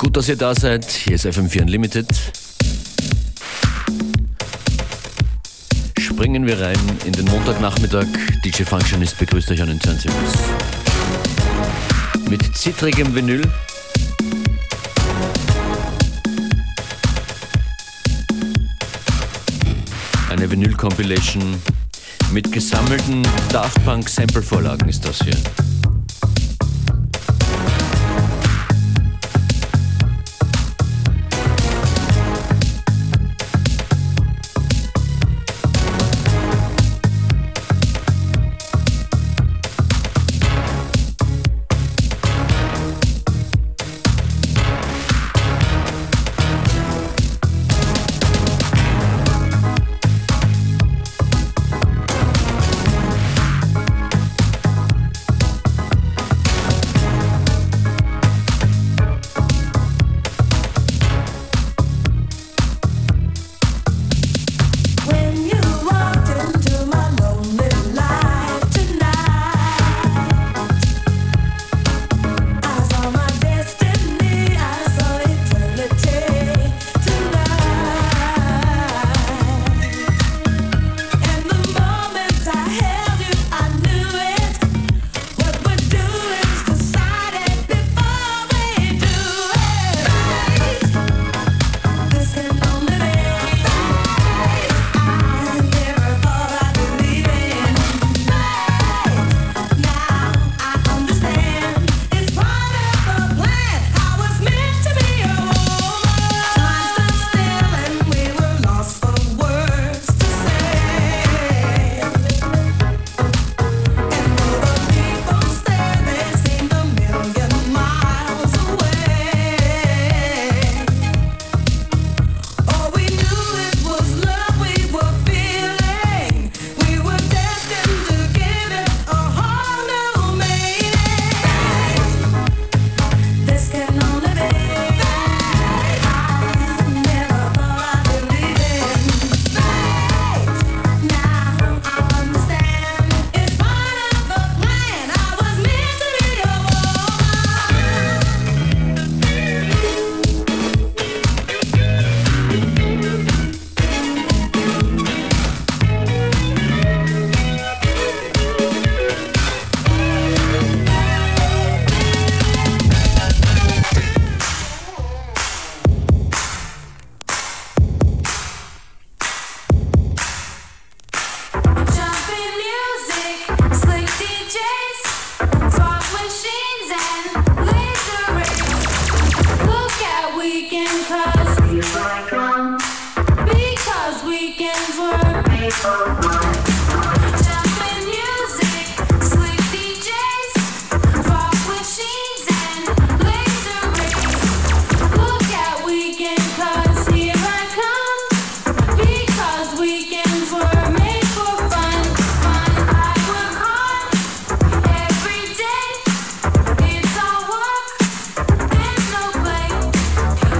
Gut, dass ihr da seid. Hier ist FM4 Unlimited. Springen wir rein in den Montagnachmittag. DJ Functionist begrüßt euch an den Turntables. Mit zittrigem Vinyl. Eine Vinyl-Compilation mit gesammelten Daft Punk Sample-Vorlagen ist das hier.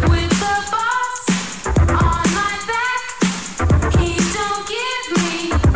Don't give me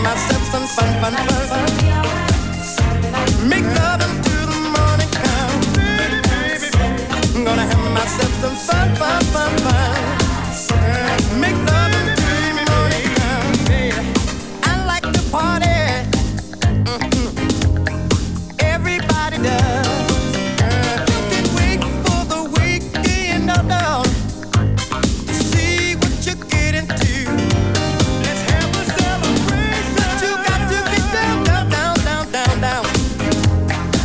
myself some fun, fun, fun. Make love until the morning comes. I'm gonna have myself some fun, fun, fun, fun. Make love until the morning comes. I like to party. Everybody does. You can wait for the weekend, no, no. See what you get into. Let's have a celebration. But you got to get down, down, down, down, down, down.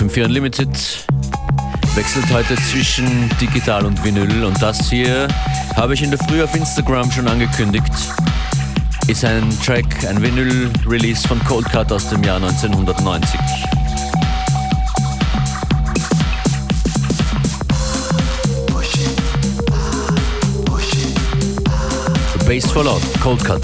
FM4 Unlimited wechselt heute zwischen Digital und Vinyl und das hier habe ich in der Früh auf Instagram schon angekündigt. Ist ein Track, ein Vinyl-Release von Cold Cut aus dem Jahr 1990. Bass for Love, Cold Cut.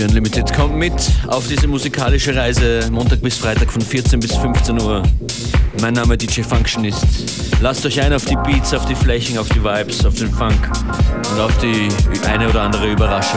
Unlimited. Kommt mit auf diese musikalische Reise, Montag bis Freitag von 14 bis 15 Uhr. Mein Name DJ Functionist. Lasst euch ein auf die Beats, auf die Flächen, auf die Vibes, auf den Funk und auf die eine oder andere Überraschung.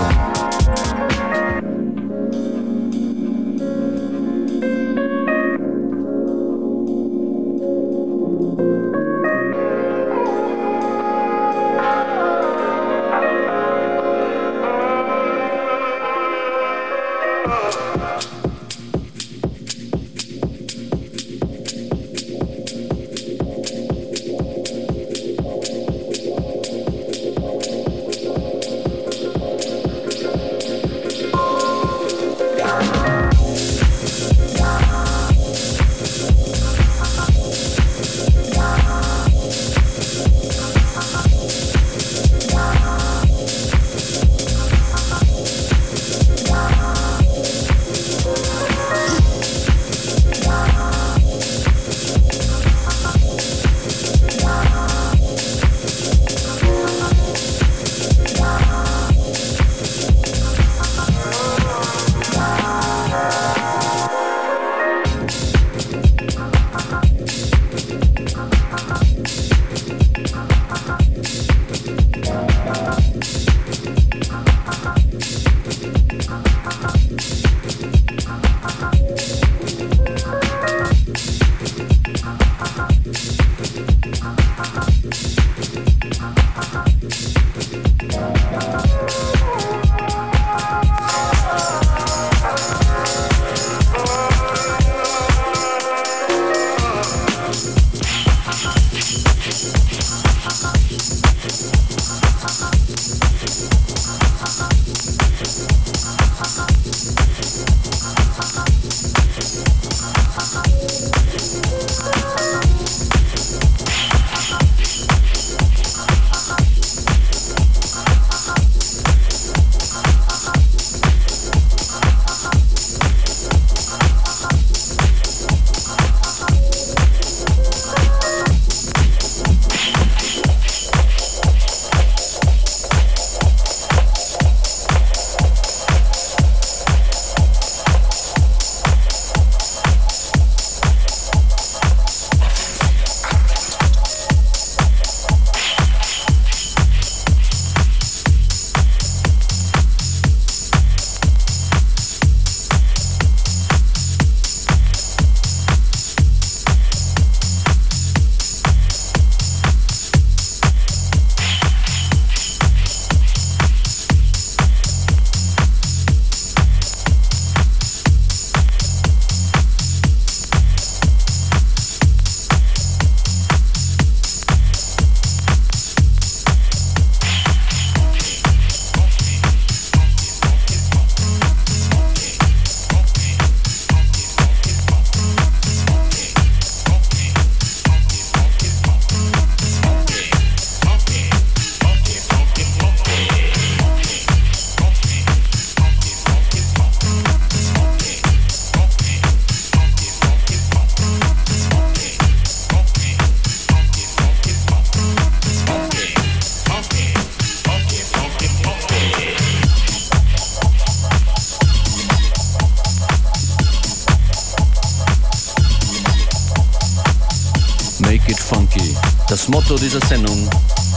Das Motto dieser Sendung.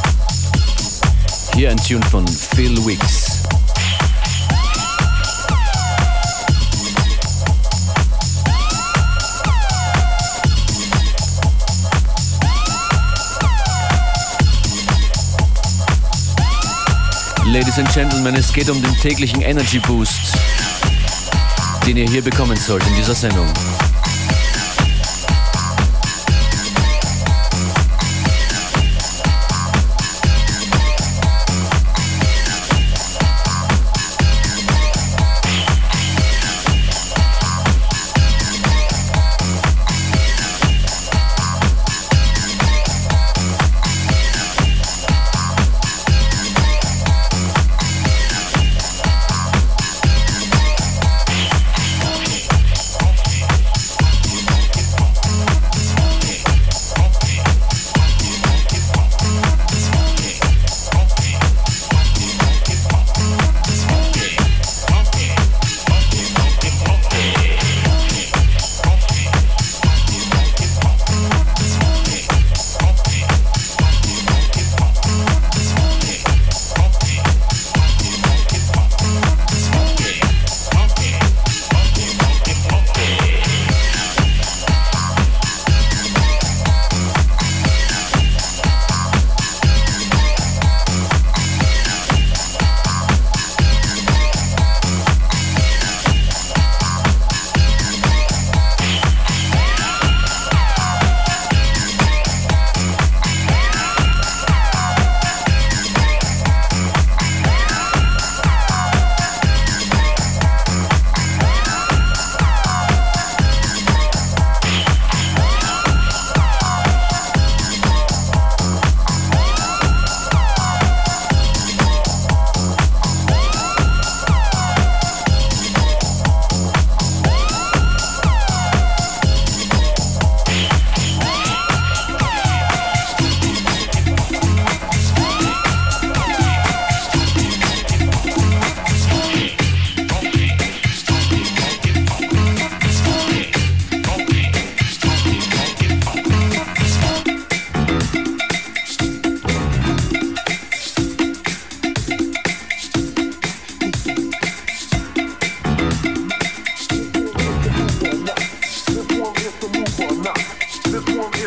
Hier ein Tune von Phil Wicks. Ladies and Gentlemen, es geht um den täglichen Energy Boost, den ihr hier bekommen sollt in dieser Sendung.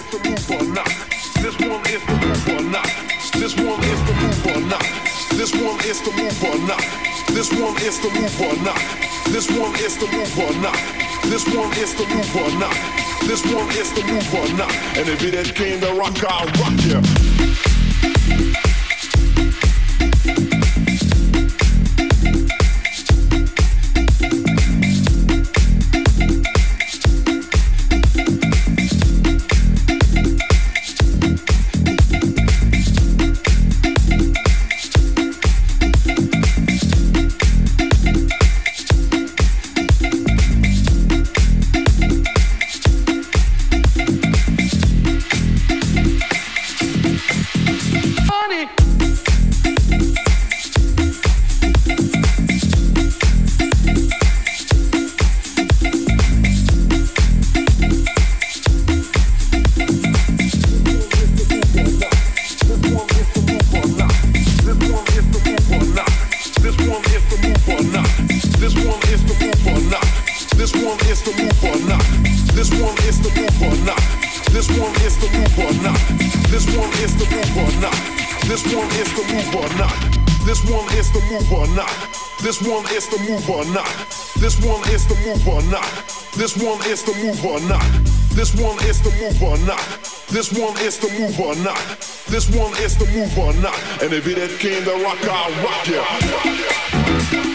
is the move or not. This one is the move or not. This one is the move or not. This one is the move or not. This one is the move or not. This one is the move or not. This one is the move or not. This one is the move or not. And if it ain't came to rock, I'll rock ya. This one is the move or not. This one is the move or not. This one is the move or not. This one is the move or not. This one is the move or not. This one is the move or not. And if it ain't came to rock, I'll rock ya.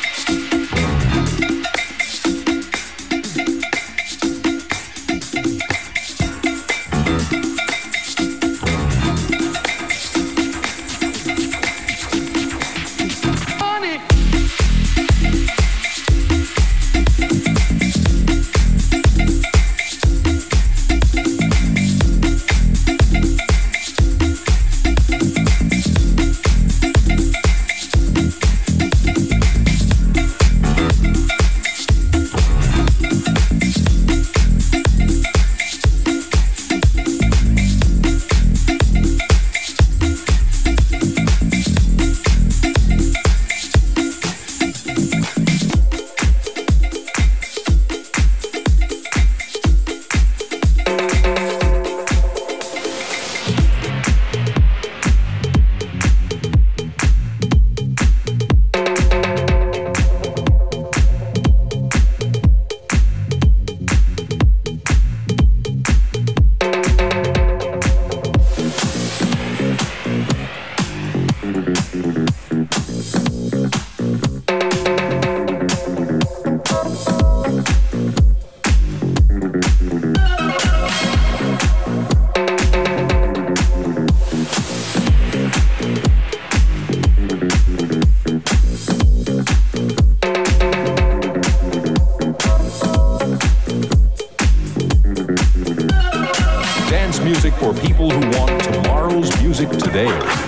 For people who want tomorrow's music today.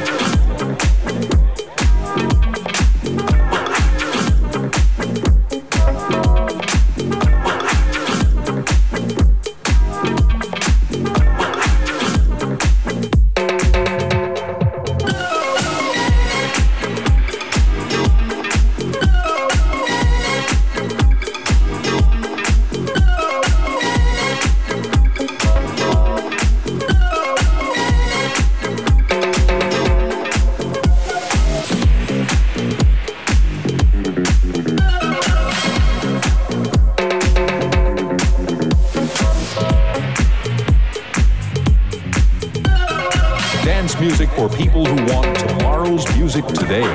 Music for people who want tomorrow's music today.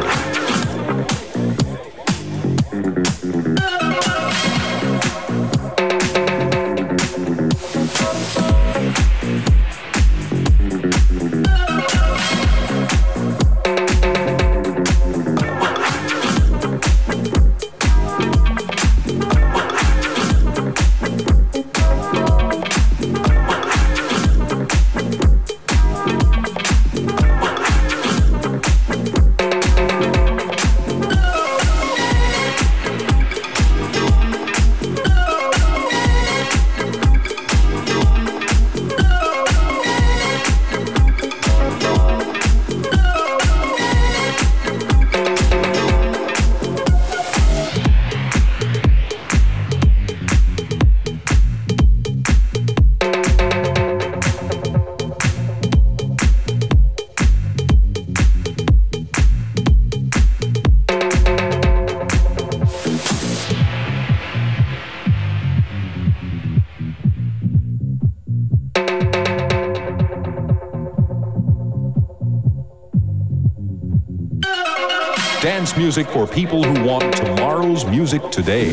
Dance music for people who want tomorrow's music today.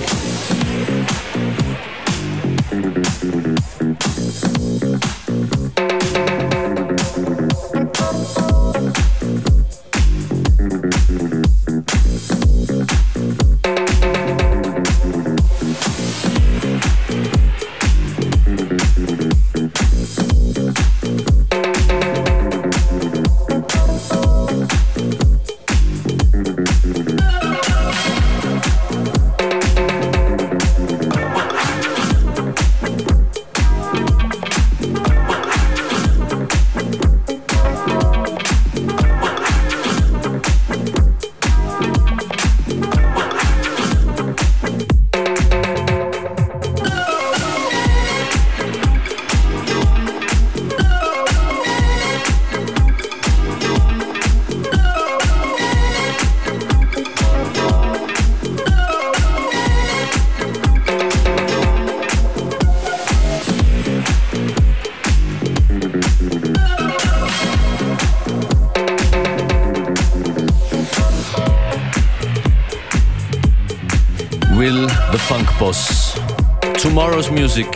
Will the Funk Boss. Tomorrow's Music.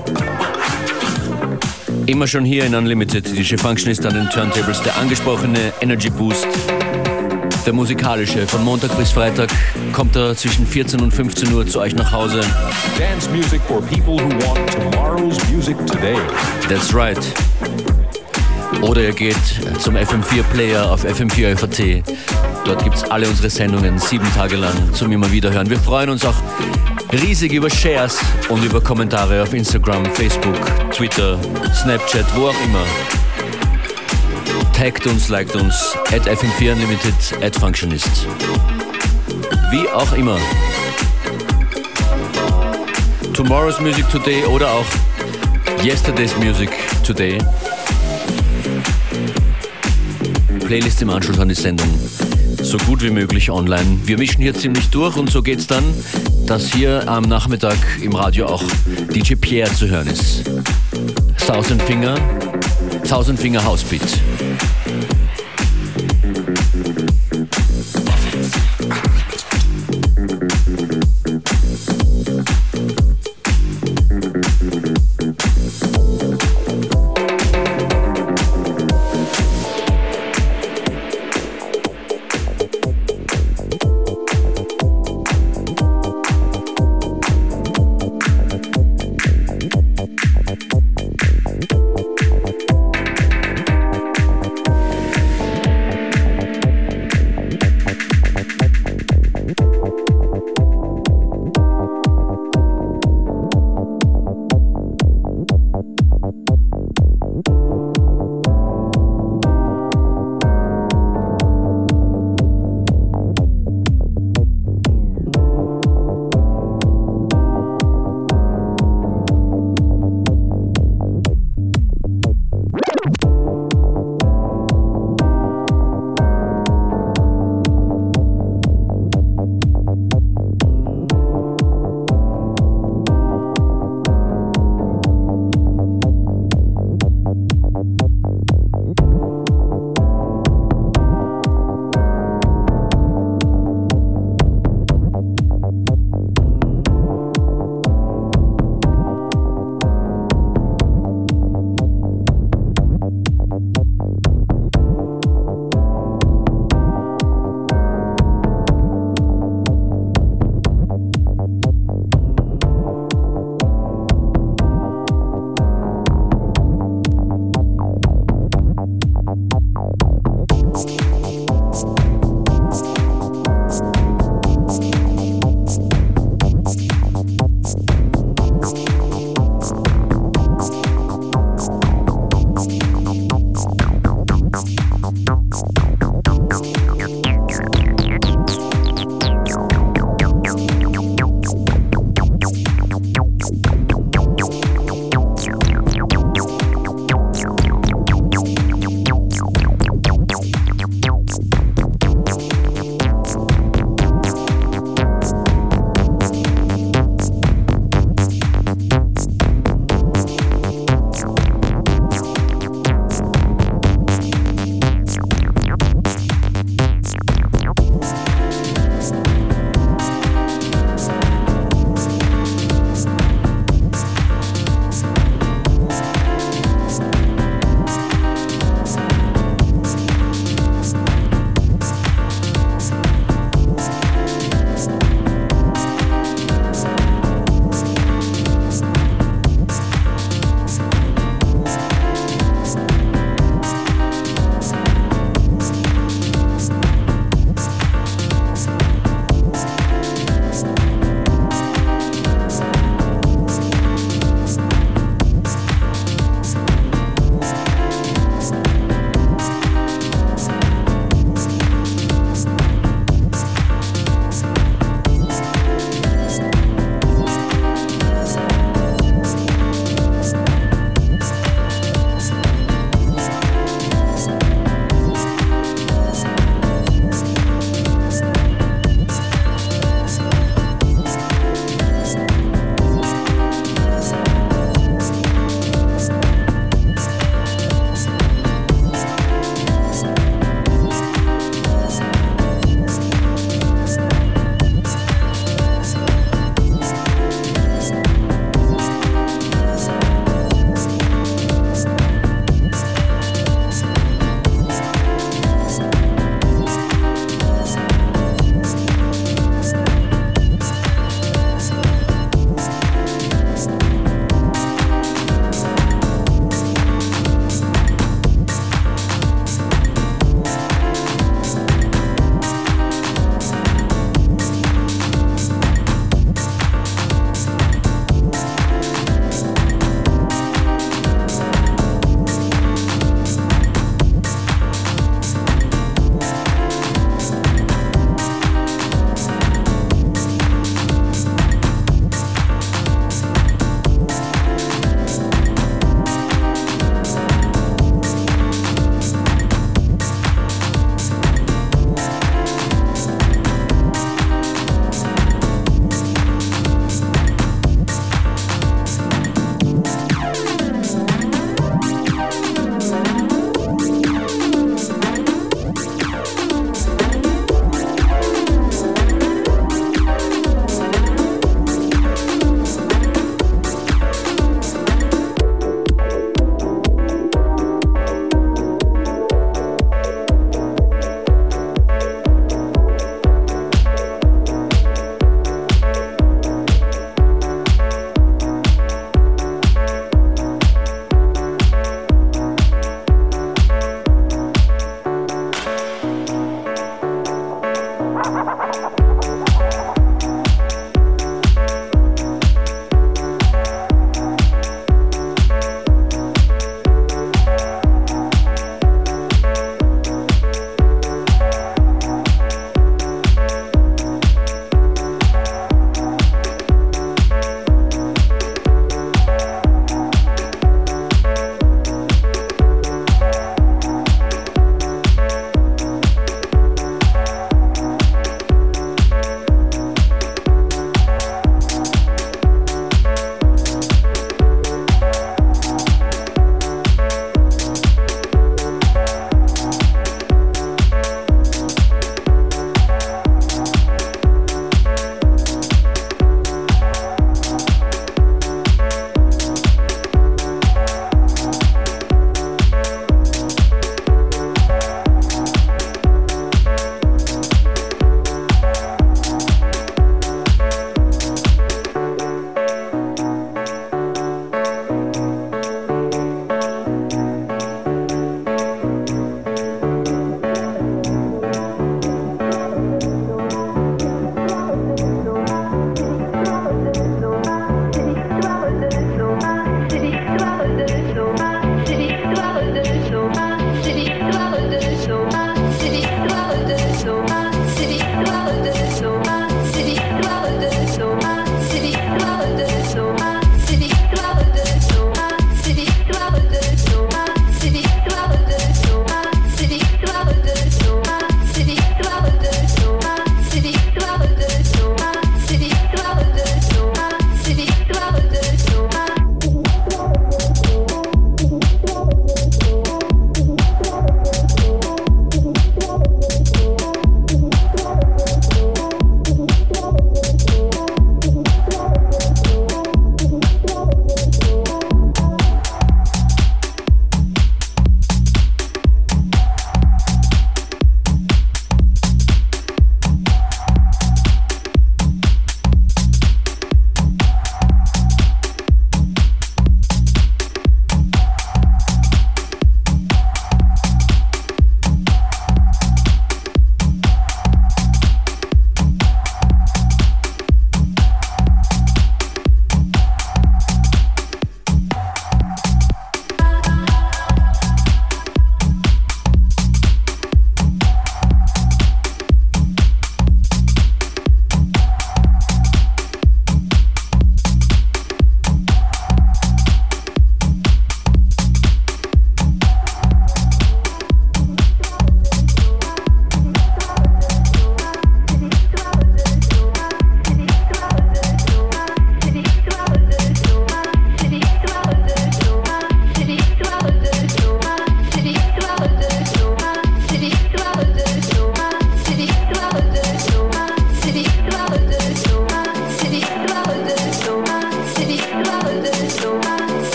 Immer schon hier in Unlimited. DJ Functionist an den Turntables. Der angesprochene Energy Boost. Der musikalische. Von Montag bis Freitag kommt er zwischen 14 und 15 Uhr zu euch nach Hause. Dance music for people who want tomorrow's music today. That's right. Oder ihr geht zum FM4-Player auf FM4 FAT. Dort gibt es alle unsere Sendungen 7 Tage lang zum immer wieder hören. Wir freuen uns auch riesig über Shares und über Kommentare auf Instagram, Facebook, Twitter, Snapchat, wo auch immer. Taggt uns, liked uns, @FM4 Unlimited, @Functionist. Wie auch immer. Tomorrow's Music Today oder auch Yesterday's Music Today. Playlist im Anschluss an die Sendung. So gut wie möglich online. Wir mischen hier ziemlich durch und so geht's dann, dass hier am Nachmittag im Radio auch DJ Pierre zu hören ist. Thousand Finger Housebeat.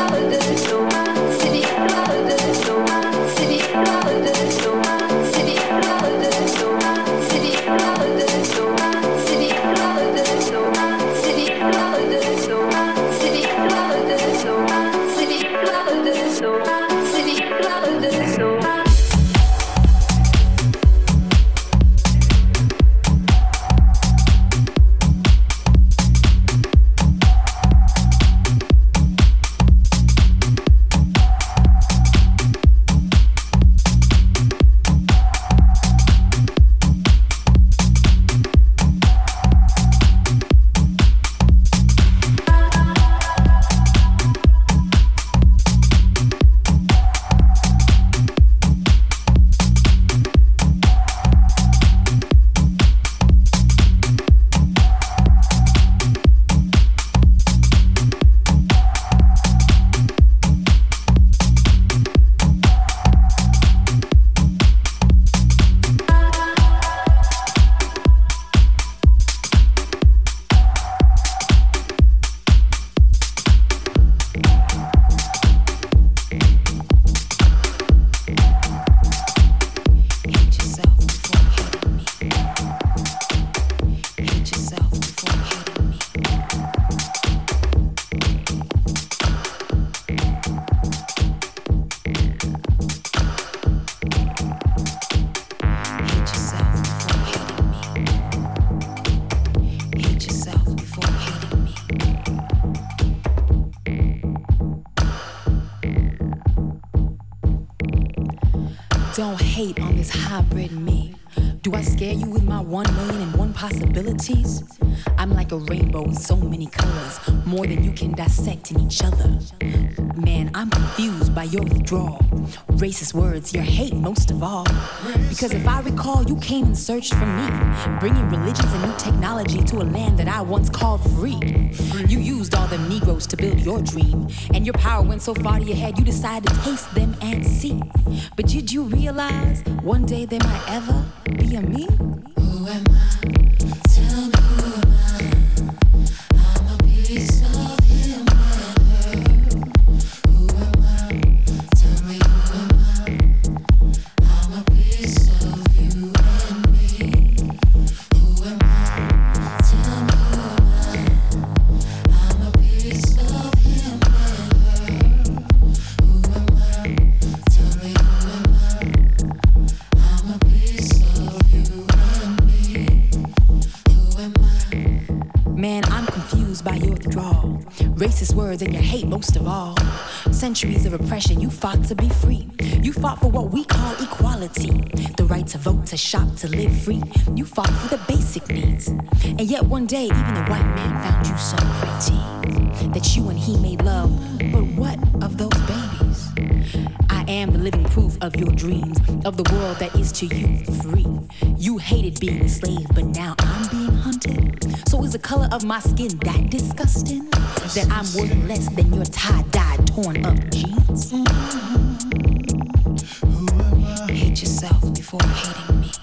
Don't hate on this hybrid me. Do I scare you with my 1,000,001 possibilities? I'm like a rainbow with so many colors, more than you can dissect in each other. Man, I'm confused by your withdrawal. Racist words, your hate most of all. Because if I recall, you came and searched for me, bringing religions and new technology to a land that I once called free. You used all them Negroes to build your dream, and your power went so far to your head, you decided to taste them and see. But did you realize one day there might ever be a me? Who am I? Tell me who am I? I'm a piece of him and her. Who am I? Tell me who am I? I'm a piece of you and me. Who am I? Tell me who am I? I'm a piece of him and her. Who am I? Tell me who am I? I'm a piece of you and me. Who am I? Man, I'm confused by your withdrawal. Racist words and your hate most of all. Centuries of oppression, you fought to be free. You fought for what we call equality. The right to vote, to shop, to live free. You fought for the basic needs. And yet one day, even a white man found you so pretty that you and he made love. But what of those babies? I am the living proof of your dreams, of the world that is to you free. You hated being a slave, but now I'm being hunted. So is the color of my skin that disgusting? That I'm worth less than your tie-dyed, torn up jeans? Hate yourself before hating me.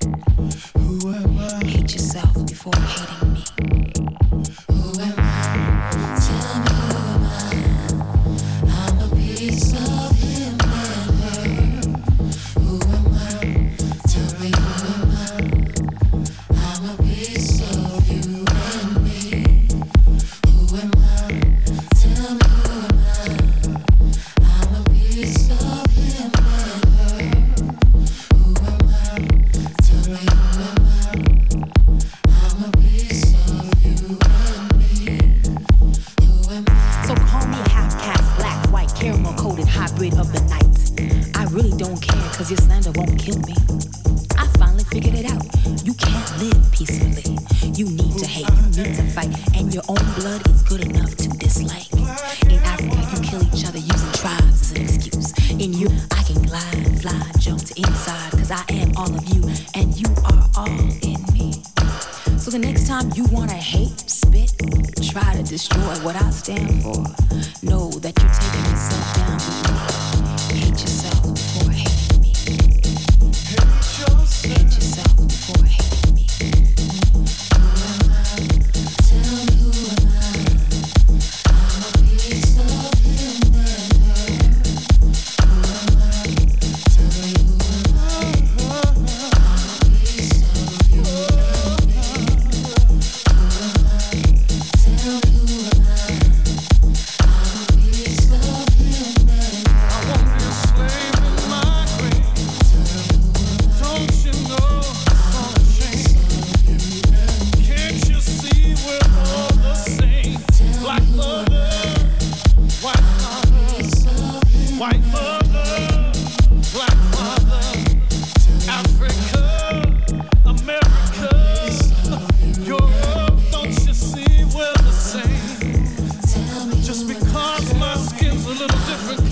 Hate yourself before hating me. Who am I? Tell me who am I? I'm a piece of him and her. Who am I? Tell me who am I? I'm a piece of you and me. Who am I? Tell me who am I? I'm a piece of him and her. Who am I? Tell me who am I? I'm a piece of you and me. Who am I? So call me half-caste, black, white, caramel-coated hybrid of the night. I really don't care, cause your slander won't kill me. I finally figured it out. You can't live peacefully. You need to hate, you need to fight, and your own blood is good enough to dislike. In Africa, you kill each other using tribes as an excuse. In you, I can glide, fly, jump to inside, cause I am all of you, and you are all in me. So the next time you wanna hate, spit, try to destroy what I stand for, know that you're taking yourself down with me. Hate yourself before hating me. Hate yourself before hating me. Who am I? Tell me who am I? I'm a piece of him.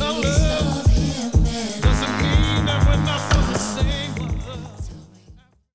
our love.